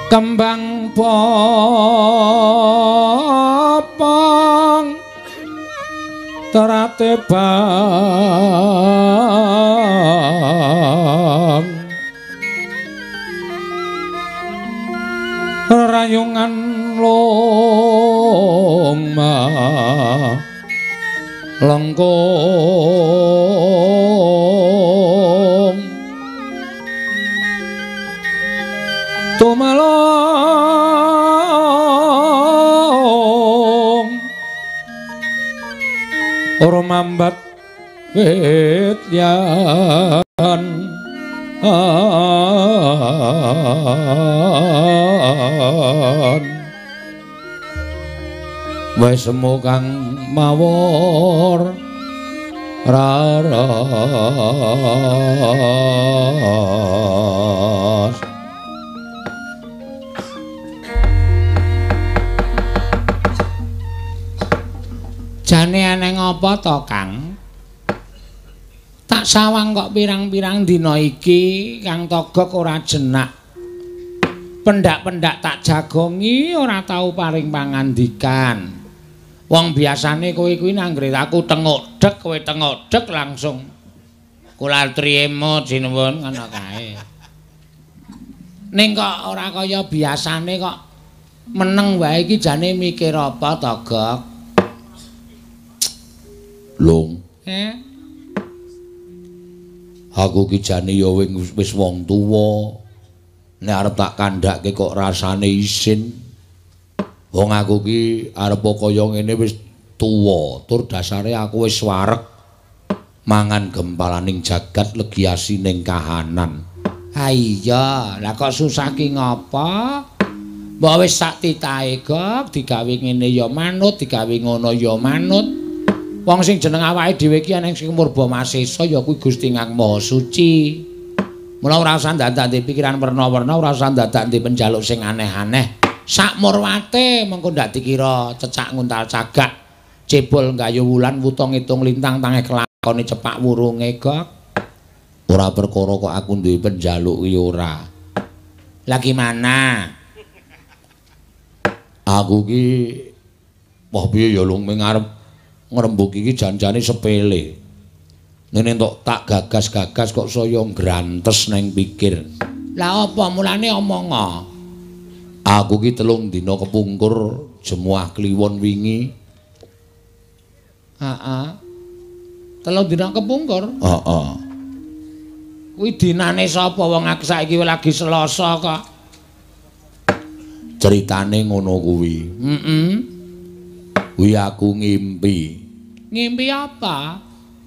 kembang popong terate bang rayungan longma lengkung tumalong ora mambat wetyan wis semu kang mawur raras jane aneh ngopo to Kang tak sawang kok pirang-pirang dina iki Kang Togog ora jenak pendak-pendak tak jagongi ora tau paring pangandikan wong biasane kowe kuwi nanggre aku tengok-dek kowe tengok-dek langsung kula triyema jinuwun ngono kae ning kok ora kaya biasane kok meneng wae iki jane mikir apa Togog Long aku ki jane ya wis wong tuwa nek arep tak kandhake kok rasane isin wong aku ki arep kaya ngene wis tuwa tur dasare aku wis wareg mangan gempalaning jagat legiasi ning kahanan ha iya lah kok susah ki ngapa mbok wis sak titahe Gog digawe ngene ya manut digawe ngono ya manut wong sing jeneng awake dhewe iki ana sing murba masesa ya kuwi Gusti Kang Maha Suci. Mula ora usah ndadak pikiran werna-werna, ora usah ndadak penjaluk sing aneh-aneh. Sak murwate mengko ndak dikira cecak nguntal cagak, cebol nggayu wulan wuta ngitung lintang tangeh kelakone cepak wurunge Gog. Ora perkara kok aku duwe penjaluk iki ora. Lah gimana? Aku ki wah piye ya lung ngarep ngrembug iki jan-jane sepele. Nene entuk tak gagas-gagas kok saya ngrantes neng pikir. Lah apa mulane omong? Aku ki 3 dina kepungkur jemuah kliwon wingi. Heeh. 3 dina kepungkur? Heeh. Kuwi dinane sapa wong aku saiki lagi Selasa kok. Ceritane ngono kuwi. Heeh. Kuwi aku ngimpi. Ngimpi apa?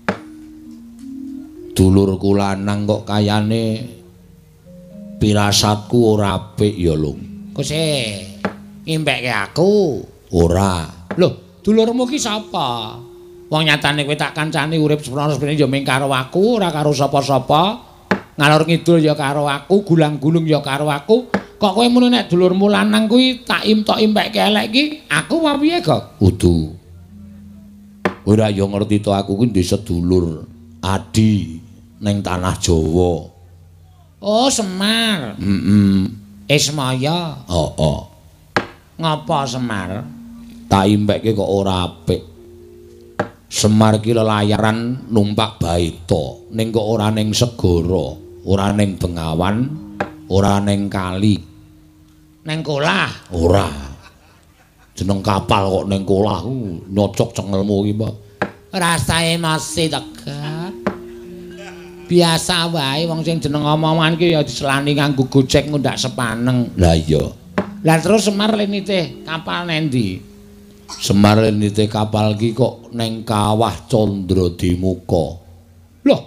Dulurku lanang kok kayane pirasatku ora apik ya, Lung. Kok ngimpekke aku? Ora. Loh, dulurmu ki sapa? Wong nyatane kowe tak kancani urip seprono-seprene ya mung karo aku, ora karo sapa-sapa. Ngalor ngidul ya karo aku, gulang-gulung ya karo aku. Kok kowe muni nek dulurmu lanang kuwi tak impekke elek ki, aku apa piye, Gog? Kudu. Kowe ora yo ngerti to aku kuwi ndek sedulur Adi ning tanah Jawa. Oh, Semar. Ismaya. Oh. Ngapa Semar? Tak impekke kok ora apik. Semar ki lelayaran numpak baita, ning kok ora ning segara, ora ning bengawan, ora ning kali. Neng kolah ora jeneng kapal kok neng kolah nyocok cengelmu iki Pak rasae masih dekat biasa wae wong sing jeneng omongan ki ya diselani nganggo gojek ngundak sepaneng lah iya lah terus Semar lenite kapal nendi Semar lenite kapal ki kok neng kawah Candradimuka loh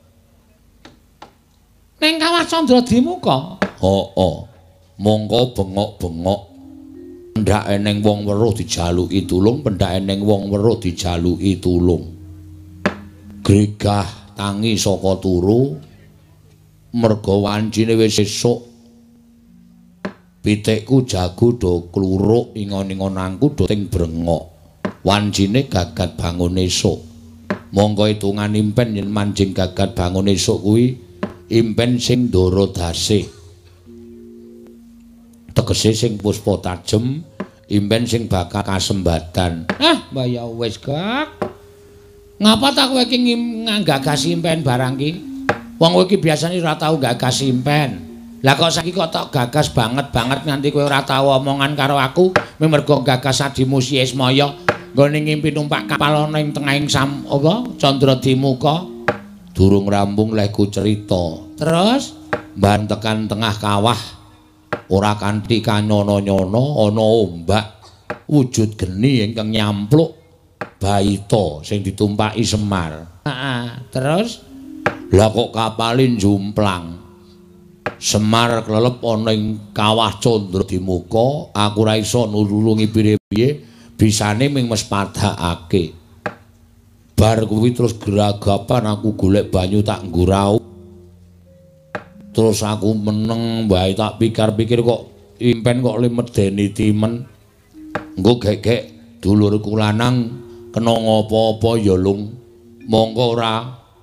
neng kawah Candradimuka oh mongko bengok-bengok pendak eneng wong weruh dijaluki tulung pendak eneng wong weruh dijaluki tulung gregah tangi saka turu merga wancine wis esuk pitikku jago do kluruk ingon-ingonanku do ting brengok wancine gagat bangun esuk mongko hitungan impen yen manjing gagat bangun esuk kuwi impen sing ndara dasih tegese sing puspa tajem, impen sing bakal kasembatan. Ah, mbah ya wis, Gak. Ngapa tak kowe iki nggagas impen barang ki? Wong kowe iki biasane ora tau gagas impen. Lah kok saiki kok tok gagas banget nganti kowe ora tau omongan karo aku, mergo gagas adimu Si Ismaya nggone ngimpi numpak kapal ana ing tengahing Candra-Dimuka. Durung rampung lehku cerita. Terus mban tekan tengah kawah ora kanthi kanyono-nyono ana ombak wujud geni ingkang nyampluk baita sing ditumpaki Semar. Heeh, terus lah kok kapalin jumplang. Semar klelep ana ing kawah Candra-Dimuka, aku ora iso nulungi piye-piye, bisane ming mes padhakake. Bar kuwi terus geragapan aku golek banyu tak nggurau. Terus aku meneng bae tak pikir-pikir kok impen kok le medeni timen. Engko gek-gek dulurku lanang kena ngopo-opo ya lung. Mongko ora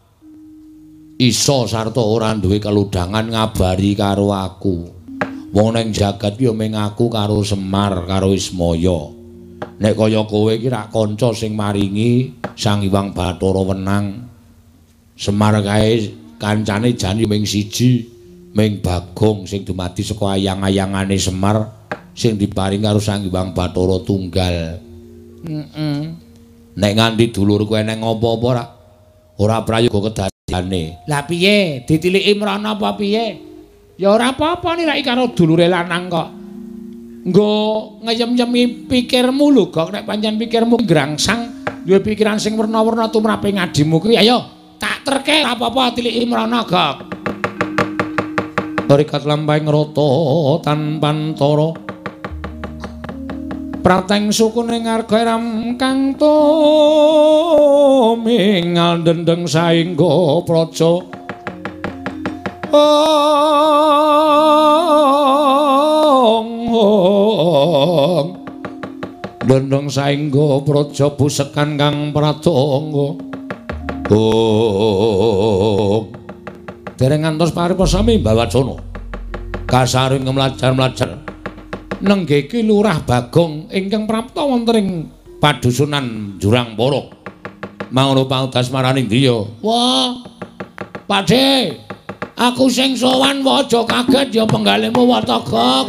iso sarta ora duwe keludhangan ngabari karo aku. Wong ning jagat ya mung aku karo Semar karo Ismaya. Nek kaya kowe iki rak kanca sing maringi Sang Hyang Bathara wenang. Semar kae kancane jan ming siji, ming Bagong sing dumadi saka ayang-ayangane Semar sing diparing karo Sang Hyang Bathara tunggal. Nek nganti dulurku eneng apa-apa ora prayoga kedadiane. Lah piye? Ditiliki mrana apa piye? Ya ora apa-apa nilai karo dulure lanang kok. Nggo ngeyem-yemi pikirmu lho, Gok. Nek pancen pikirmu grangsang, duwe pikiran sing werna-werna tumrape ngadimu kuwi, ayo tak terke ora apa-apa tiliki mrana, Gok. Rikat lampahing rata tanpantara. Prateng sukuning arga ram kang tumingal dendeng saengga praja. Dendeng saengga praja busekan kang pradonga. Dereng ngantos paripasami Mbawacana. Kasaring mlajar-mlajar nenggeki Lurah Bagong ingkang prapta wonten ing padusunan Jurang Para. Mangono paudas marani Ndiya. Wah, Pakde, aku sing sowan wae aja kaget ya penggalemu wata, Gok.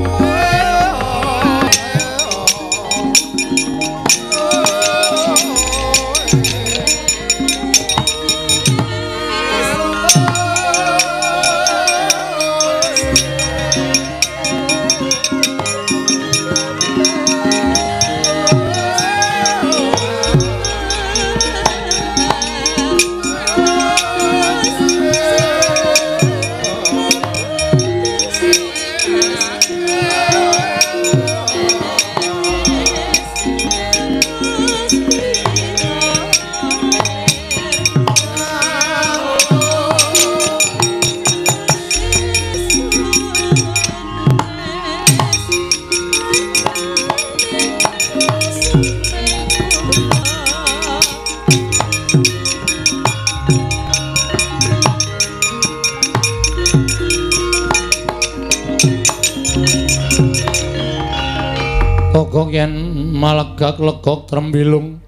Kok yen malegak legok trembilung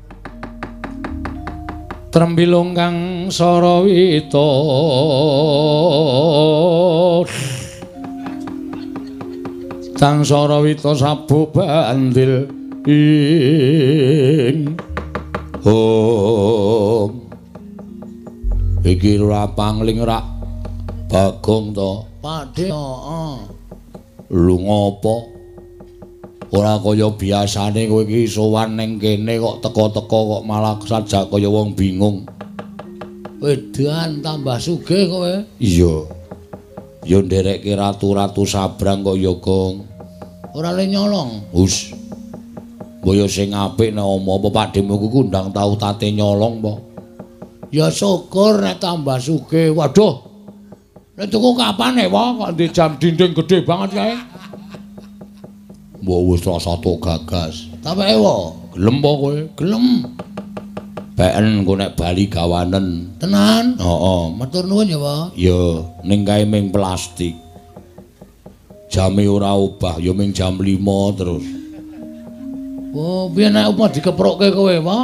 kang sarawita Sang Sarawita sabu bandil ing iki ora pangling rak Bagong to Pakde. Lu ngopo ora kaya biasane kowe iki sowan ning kene kok teka-teka kok malah sajak kaya wong bingung. Wedan tambah sugih kowe. Iya. Ya nderekke ratu-ratu sabrang kok ya, Gong. Ora le nyolong. Hus. Mbaya sing apik nek apa Pakdemu ku ndang tau tate nyolong po. Ya syukur nek tambah sugih. Waduh. Nek tuku kapan nek kok di jam dinding gede banget kae. Mbok wis rasa tok gagas. Tapeke wae, gelem po kowe? Gelem. Beken engko nek bali gawanen. Tenan? Heeh. Matur nuwun ya, Pak. Ya, ning kae ming plastik. Jame ora obah, ya ming jam 5 terus. Oh, piye nek apa dikeprokke kowe, apa?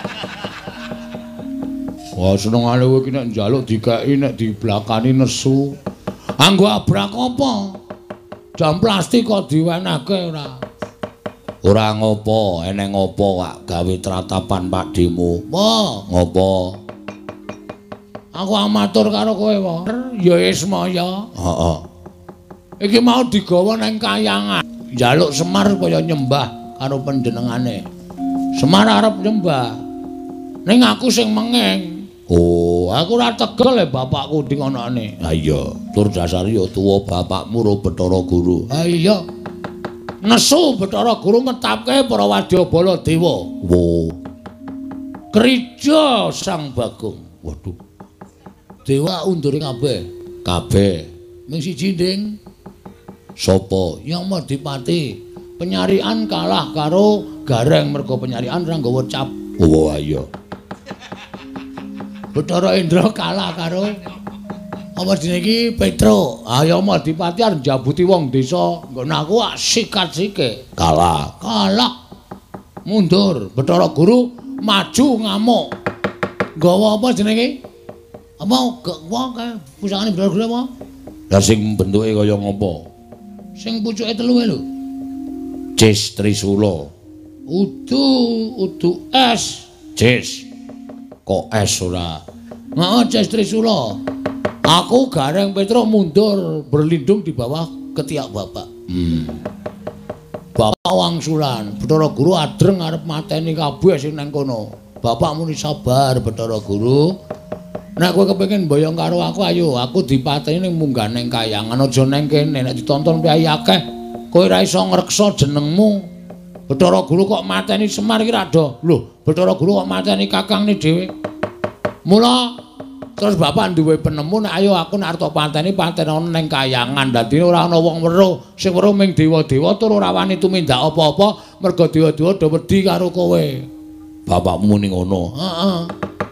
Wah, senengane kowe iki nek njaluk dikeki nek diblakani nesu. Anggo abrak apa? Jam plastik kok diwenehke ora. Ora ngopo, eneng ngopo Wak gawe tratapan pakdemu. Apa? Ngopo? Aku amatur karo kowe, apa? Ya Ismaya. Heeh. Iki mau digawa nang kayangan. Njaluk Semar kaya nyembah karo panjenengane. Semar arep nyembah. Ning aku sing mengeng. Oh, Aku ora tegel bapakku dingonane. ha iya, tur dasar ya tuwa bapakmu ro Bathara Guru. Ha iya. Nesu Bathara Guru ngetapke para Wadyabala Dewa. Wo. Krija Sang Bagong. Waduh, Dewa undure kabeh. kabeh Ming siji nding sapa? Yang Madipati. Penyarian kalah karo Gareng mergo penyarian ora nggawa cap. Oh, iya. Bathara Indra kalah karo apa jenenge iki Petro. Ayo Madipati arep njabuti wong desa. Nggon aku sikat-sike. Kalah. Mundur. Bathara Guru maju ngamuk. Nggawa apa jenenge? Apa kae pusakane Bathara Guru apa? Lah sing bentuke kaya ngopo? Sing pucuke telu lho. Cis Trisula. Udu es. Cis. Kok es ora? Heeh, Cis Trisula. Aku Gareng Petro mundur berlindung di bawah ketiak bapak. Bapak wangsulan, Bathara Guru adreng arep mateni kabeh sing nang kono. Bapak muni sabar Bathara Guru. Nek kowe kepengin mboyong karo aku ayo, aku dipateni ning munggah ning kayangan aja nang kene. Nek ditonton piyai akeh, kowe ora iso ngreksa jenengmu. Bathara Guru kok mateni Semar iki ra do. Lho, Bathara Guru kok mateni kakangne dhewe. Mula terus bapak duwe penemu nek ayo aku nek arep pateni ana ning kayangan. Dadi ora ana wong weruh, sing weruh ming dewa-dewa tur ora wani tumindak apa-apa mergo dewa-dewa do wedi karo kowe. Bapakmu muni ngono. Heeh.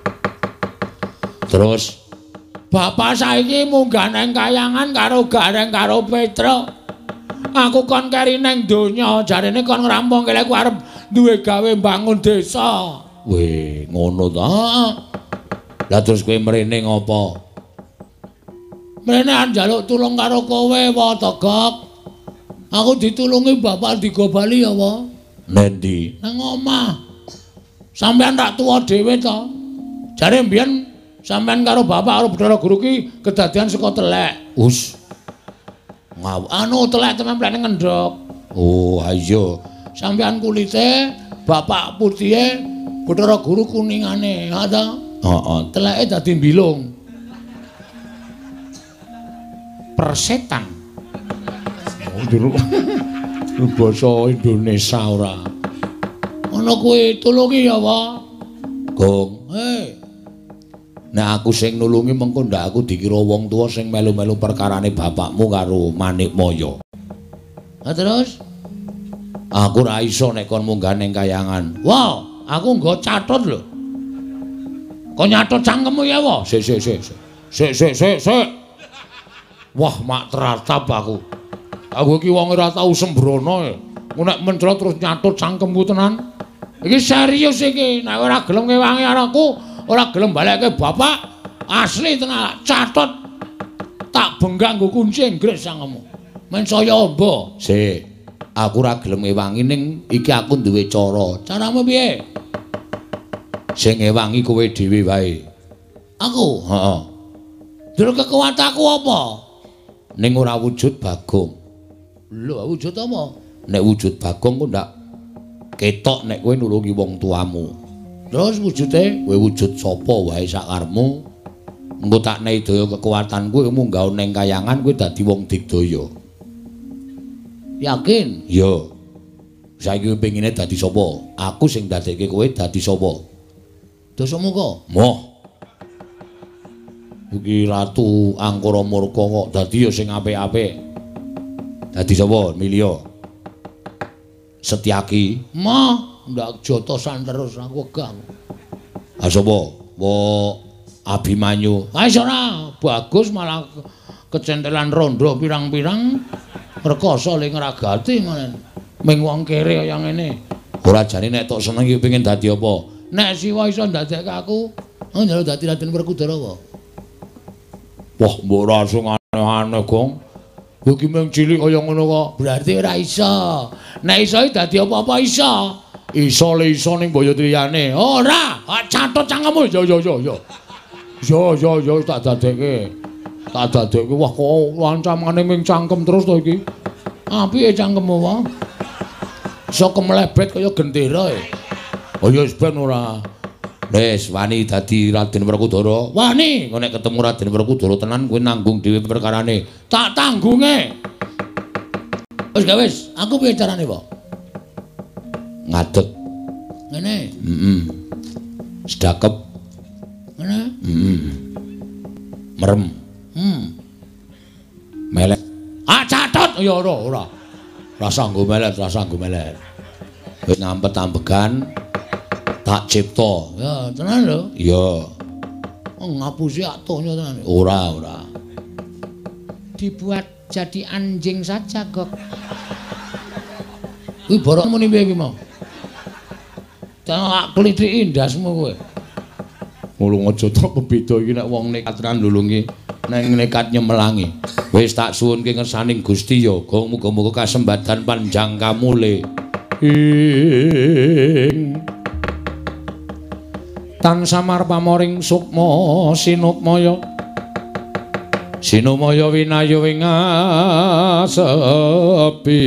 Terus Bapak saiki munggah nang kayangan karo Gareng karo Petro. Aku kon keri nang donya, jarene kon ngrampung kele aku arep duwe gawe bangun desa. weh, ngono ta? Heeh. Lah terus kowe mrene ngopo? Mrene arep njaluk tulung karo kowe, wa Tegok. Aku ditulungi bapak digobali ya, wa. Nendi? Nang omah. Sampeyan tak tuwa dhewe to. Jare mbiyen sampeyan karo bapak karo Bathara Guru ki kedadian saka telek. Us. Anu telek temen plene ngendhok. Oh, ayo. Sampeyan kulite, bapak putihe, Bathara Guru kuningane. Ha ta? Heeh. Teleke dadi mbilung. Persetan. Oh, jero. Basa Indonesia ora. Ana kuwi tulungi ya, wa. Gong. Nek aku sing nulungi mengko ndak aku dikira wong tuwa sing melu-melu perkarane bapakmu karo Manikmaya. Ha terus? Aku ora iso nek kon munggah ning kayangan. Wow, aku nggo catet lho. Kok nyatet cangkemmu ya, wa? Sik. Wah, mak teratap aku. Aku iki wong ora tau sembrono ya. Nek mencret terus nyatet cangkemku tenan. Iki serius iki. Nek ora gelem ngewangi aku, ora gelem balekke bapak, asli tenan catet. Tak benggang nggo kunci Inggris sangemu. Men saya amba. Sik. Aku ora gelem ngewangi ning iki aku duwe cara. Caramu piye? Sing ngewangi kowe dhewe wae. Aku. Heeh. Dur kekuatanku apa? Ning ora wujud Bagong. Lho, wujud apa? Nek wujud Bagong ku ndak ketok nek kowe nulungi wong tuamu. Terus wujude Kowe wujud sapa wae sakarepmu. Engko tak nehi daya kekuatanku munggah ning kayangan kowe dadi wong digdaya. yakin? Iya. Saiki kowe pengine dadi sapa? Aku sing dadekke kowe dadi sapa? Dosamu kok. Moh. Iki Ratu Angkara Murka kok dadi ya sing apik-apik. Dadi sapa? Milya. Setyaki. Mah, ndak jotosan terus aku wegah. Ah sapa? Wa Abimanyu. Ah ora, bagus malah kecentelan rondo pirang-pirang rekoso ling ngragati ngono. Ming wong kere kaya ngene. Ora jane nek tok seneng iki pengin dadi apa? Nek siwa iso ndadekke aku, njaluk dadi Raden Werkudara wae. Wah, mbok ora sing aneh-aneh, Gong. Kowe ki mung cilik kaya ngono kok. Berarti ora iso. Nek iso dadi apa-apa iso. Iso le iso ning Boyotriyane. Ora, catet cangkemmu. Yo tak dadekke. Tak dadekke. Wah, kok lancamane ming cangkem terus to iki. Apike cangkemmu wae? Iso kemlebet kaya gendera e. Oh ya wis ben ora. Wis wani dadi Raden Werkudara. Wani, kok nek ketemu Raden Werkudara tenan kowe nanggung dhewe perkarane. Tak tanggunge. Wis gak wis, aku piye carane, Pak? Ngadeg. Ngene. Sedakep. Ngene. Merem. Melek. Ah catet. Ya ora. Rasa nggo melet, Wis ngampet-ambegan tak cipta. Ya, tenan lho. Iya. Ngapusi atonya tenan. Ora. Dibuat jadi anjing saja, Gok. Kuwi borok muni piye iki mau? Tak klithiki ndasmu kowe. Mulung aja tok beda iki nek wong nekat randulungi nang nekat nyemelangi. Wis tak suwunke ngersaning Gusti ya, Gong muga-muga kasembatan panjang kamule. Tansah marpamoring sukma sinukmaya. Sinumaya winayu ing asepi.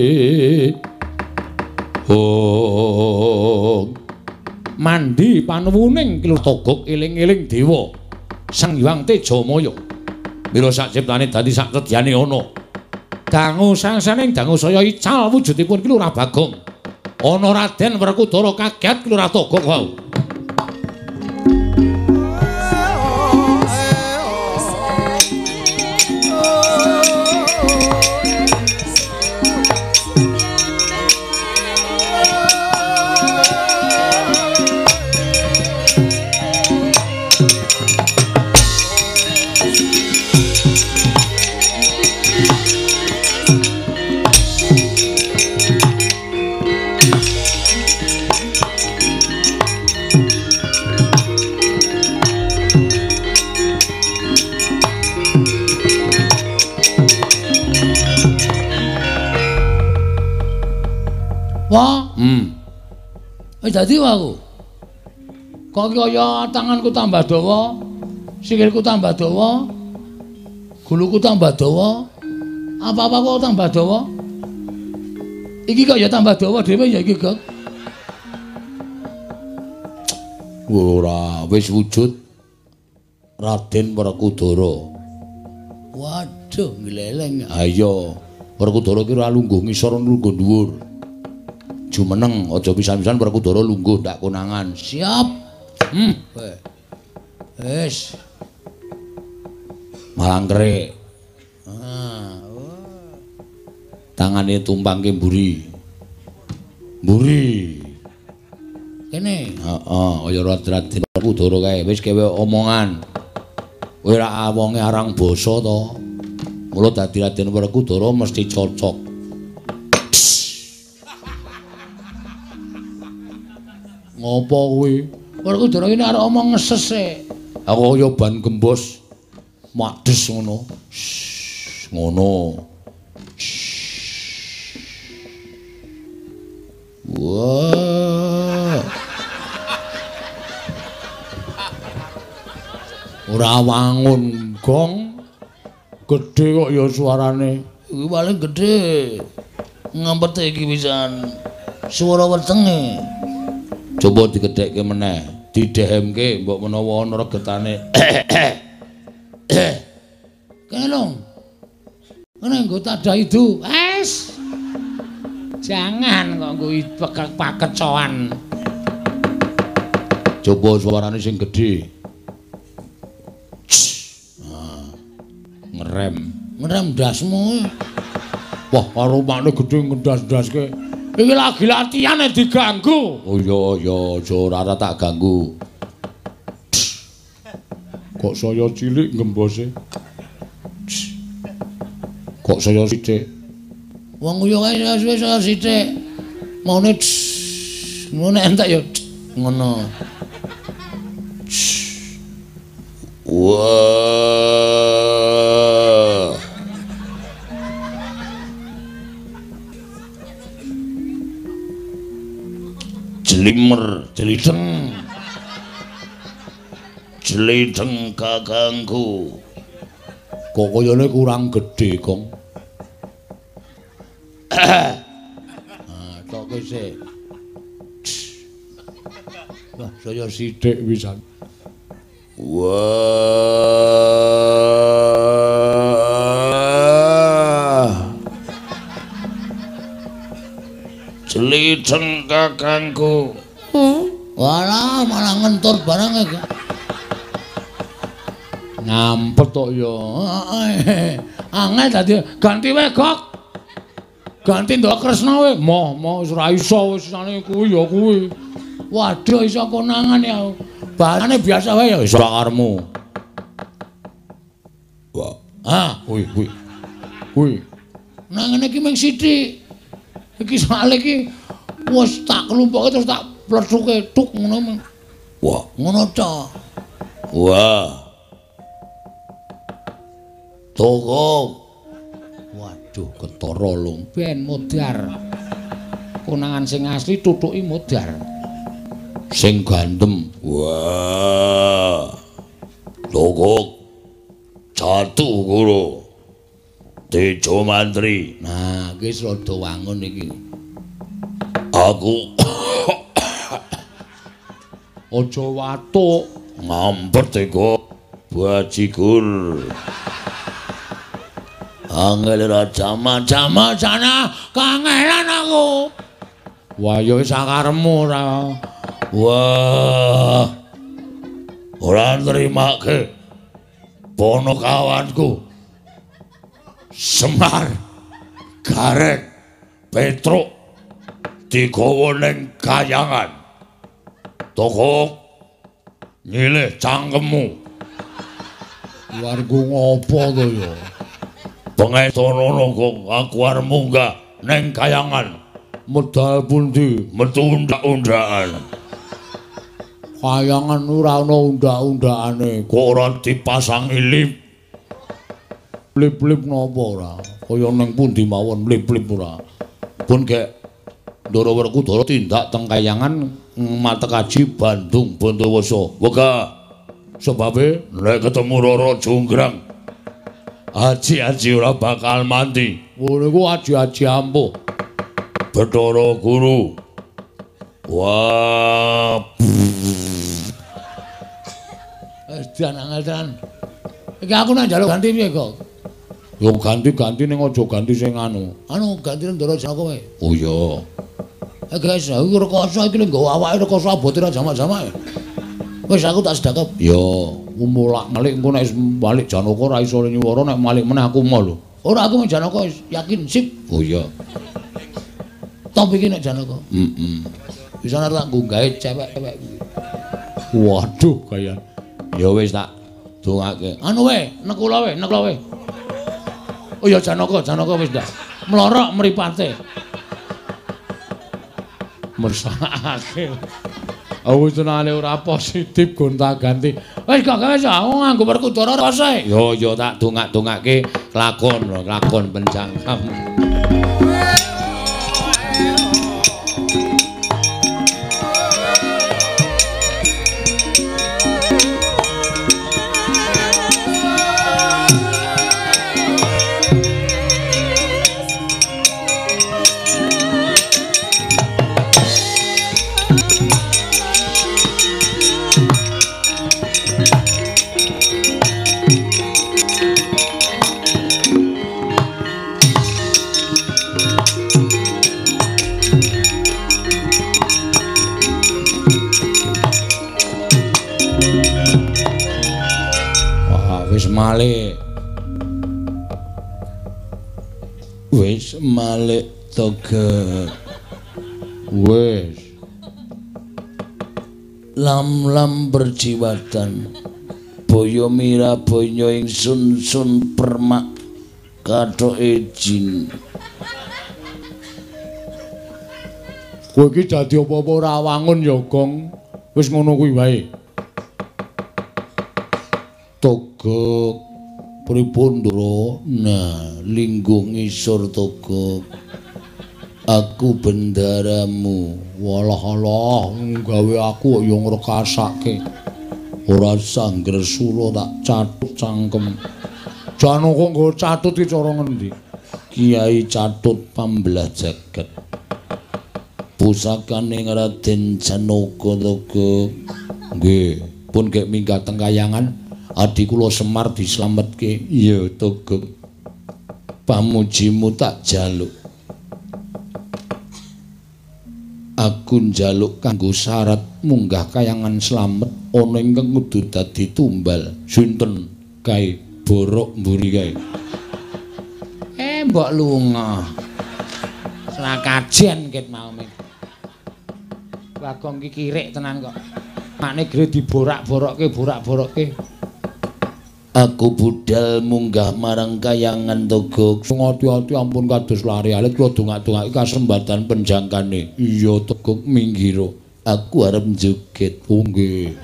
Mandi panuwuning kilutogok eling-eling dewa Sang Hyang Tejamaya. Mila sak ciptane dadi sak sedyane ana. Dangu sangsaning dangu saya ical wujudipun ki Lurah Bagong. Ana Raden Werkudara kaget ki Lurah Togok wau. Wah, dadi aku. Kok kaya tanganku tambah dawa, sikilku tambah dawa, guluku tambah dawa, apa-apa kok tambah dawa. Iki kok ya tambah dawa dhewe ya iki, Gok. Ora, wis wujud Raden Werkudara. Waduh, ngleleng. Ayo, Werkudara ki ora lungguh ngisor lungguh dhuwur. Jumeneng aja pisan-pisan Werkudara lungguh ndak konangan. Siap. Wis. Malangkre. Tangane tumpangke mburi. Mburi. Kene. Heeh, kaya Raden Werkudara kae. Wis kewe omongan. Kowe ra wonge arang basa to. Mula dadi Raden Werkudara mesti cocok. Ngopo kuwi? Werkudara iki arep omong ngeses e. Aku kaya ban gembos. Madhes ngono. Ngono. Wah. Ora wangun, Gong. Gedhe kok ya suarane. Iki paling gedhe. Ngampet iki pisan. Suara wetenge. Coba digedhekke meneh, didhehemke mbok menawa ana regetane. Kene lho. Ngene nggo tadah itu. Wes. Jangan kok nggo pakecoan. Coba suarane sing gedhe. Ngerem ndasmu. Wah, karo makne gedhe ngendas-ndaske. Iki lagi latihan diganggu. Oh iya, aja ora tak ganggu. Kok saya cilik ngembose. Kok saya sithik. Wong yo wis sithik. Maune ngono entek yo ngono. Wah. Jelimer, jelideng. Jelideng kakangku. Kok kayane kurang gedhe, Kong. Tok sik. Wah, saya sithik pisan. Wah. Jelideng kakangku. Walah, malah ngentur barang iki. Ngampet tok ya. Angel dadi ganti wae, Gok. Ganti ndok Kresna wae. Moh wis ora iso wis sane kuwi ya kuwi. Waduh iso konangan ya. Bahane biasa wae ya wis karepmu. Wah, Kuwi. Nang ngene iki mung sithik. Iki soal iki wis tak kelumpuke terus tak plethuke tuk ngono. wah, Ngono ta. wah. Toko. Waduh, ketara lho. Ben modar. Konangan sing asli tutuki modar. Sing gandem. Wah. Toko. Jatuh guru. Tejo mantri. Nah, iki rada wangun iki. Aku Aja watuk. ngampet teko bajigur. Angel ra jama-jama Sana kangelan aku. Wah, ya wis sakarepmu ora. Wah. Ora nrimake ponokawanku. Semar, Garek, Petruk digawa ning kayangan. Toko nyilih cangkemmu. Warga ngopo to ya? Pengetonono kok aku arep munggah ning kayangan. Medal pundi? Metu undak-undakan. Kayangan ora ana undak-undakane. Kok ora dipasangi lip. Lip-lip napa ora? Kaya ning pundi mawon lip-lip ora. Pun gek Ndara Werkudara tindak teng kayangan Matekaji Bandung Bondowoso. Wega Sebabe nek ketemu Rara Jonggrang. Aji-aji ora bakal mati. ngono iku aji-aji ampuh. Bathara Guru. Wah. Dan angel. Iki aku nang njaluk ganti piye kok? Yo ganti-ganti ning aja ganti sing anu. Anu ganti Ndara Janaka wae. Oh iya. Guys, aku rekoso iki lho nggawa awake rekoso abote ra jamak-jamak. Wis aku tak sedakep. Yo, Mulak-malik engko nek balik Janaka ra iso nyuwara nek malik meneh aku mau lho. Ora aku mung Janaka yakin sip. oh iya. Top iki nek Janaka. Bisa nek tak nggo gawe cewek-cewek kuwi. Waduh kaya. Ya wis tak dongake. Anu wae, nekula wae. Oh ya Janaka wis ndak. Mlorok mripate. Mersakake. Aku senane ora positif gonta-ganti. Wis gak gawe aku nganggo Werkudara rasa. Yo tak dongak-dongake lakon penjangkam. Wis malik toga. Wis. Lam-lam berjiwatan. Boyo mira boyo ingsun sun permak kathoke jin. Kowe iki dadi apa-apa ora wangun ya, Gong. Wis ngono kuwi wae. Togok pripun, Ndoro? Nah, linggung ngisor Togok. Aku bendaramu. Walah-alah, gawe aku kok ya ngrekasake. Ora sangger sula tak catut cangkem. Jan kok nggo catut iki cara ngendi? Kiai Catut Pambelah Jagat. Pusakane Raden Janaka Togok. Nggih, pun gek minggat teng kayangan adi kula Semar dislametke. Iya, Togok. Pamujimu tak jaluk. Aku njaluk kanggo syarat munggah kayangan slamet ana ingkang kudu dadi tumbal. Sinten kae borok mburi kae. Mbok lunga. Slakajen ket mau. Bagong iki kirik tenan kok. Makne gre diborak-borokke. Aku budal munggah marang kayangan Togok. Ngati-ati ampun kados lari alit kula dongak-dongake kasembatan penjangkane. Iya Togok minggiro. Aku arep joget. Oh nggih.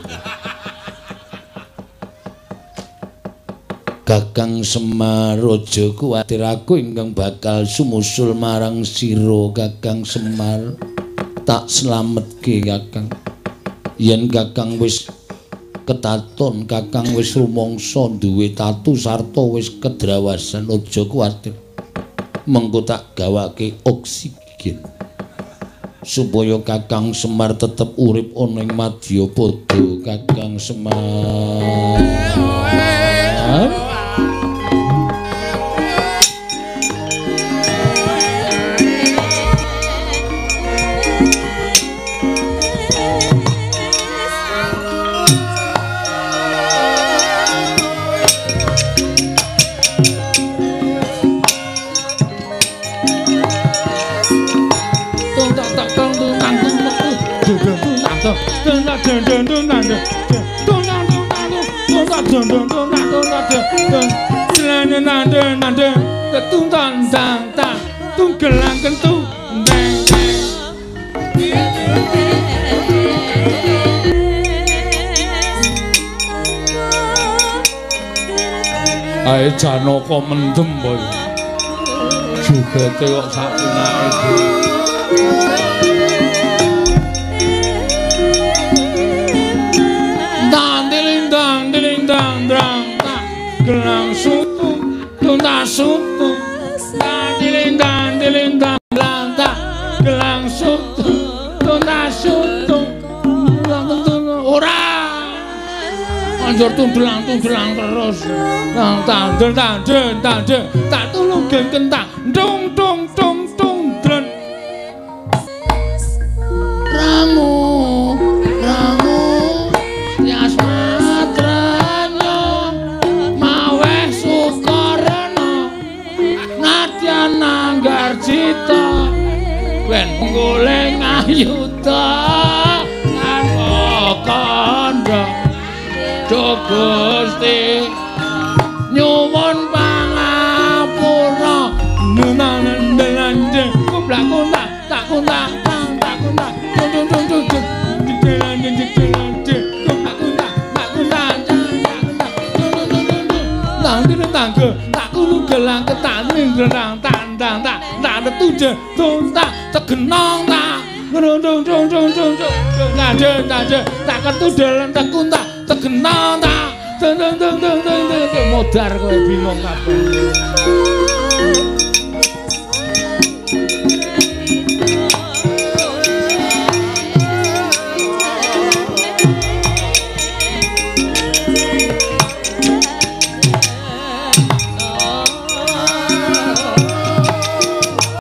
Kakang Semar aja kuwatir aku ingkang bakal sumusul marang sira Kakang Semar. Tak slametke Kakang. Yen Kakang wis ketaton, Kakang wis rumangsa duwe tatu sarta wis kedrawasan, aja kuwatir. Mengko tak gawake oksigen. Supaya Kakang Semar tetep urip ana ing Madyapada, Kakang Semar. Ae Janaka mendem boy. Jogete kok sak pinake iki. Gelang sutu, tuntas sutu, dilindang belanta. Gelang sutu, tuntas sutu, ora. Anjur tundelang terus. Nang tandel, tak tulung kentang, dung dren. Ramu. Cita ben goleng ayuta karo kandha Gusti nyuwun pangapura nenanendelanje kumblak tak kuntak gelang ketaning rendang tandang tak tuje tuntak tegenong tak nade tak ketudel tak kuntak tegenong tak modar kowe bingung kabeh.